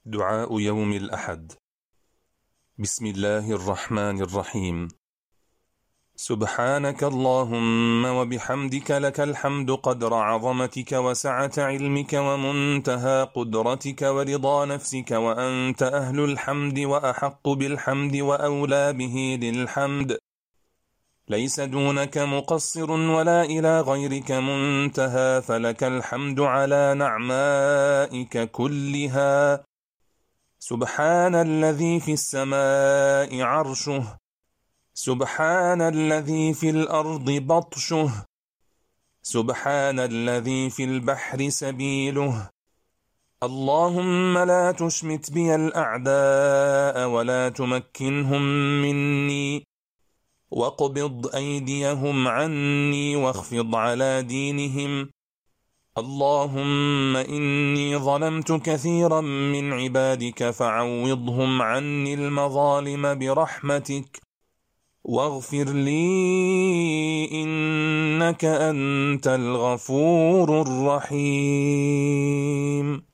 دعاء يوم الأحد. بسم الله الرحمن الرحيم. سبحانك اللهم وبحمدك، لك الحمد قدر عظمتك وسعة علمك ومنتهى قدرتك ورضا نفسك، وأنت أهل الحمد وأحق بالحمد وأولى به للحمد. ليس دونك مقصر ولا إلى غيرك منتهى، فلك الحمد على نعمائك كلها. سبحان الذي في السماء عرشه، سبحان الذي في الأرض بطشه، سبحان الذي في البحر سبيله. اللهم لا تشمت بي الأعداء ولا تمكنهم مني، واقبض أيديهم عني واخفض على دينهم. اللهم إني ظلمت كثيرا من عبادك فعوضهم عني المظالم برحمتك، واغفر لي إنك أنت الغفور الرحيم.